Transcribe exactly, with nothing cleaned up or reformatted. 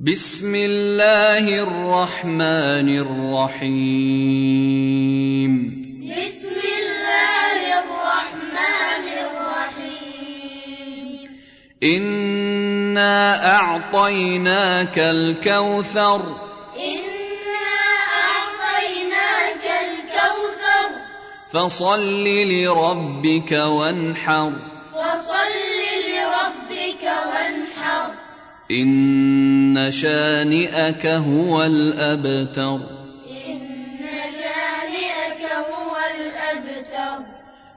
بسم الله الرحمن الرحيم بسم الله الرحمن الرحيم إنا أعطيناك الكوثر إنا أعطيناك الكوثر فصل لربك وانحر فصل لربك وانحر إن شانئك هو الأبتر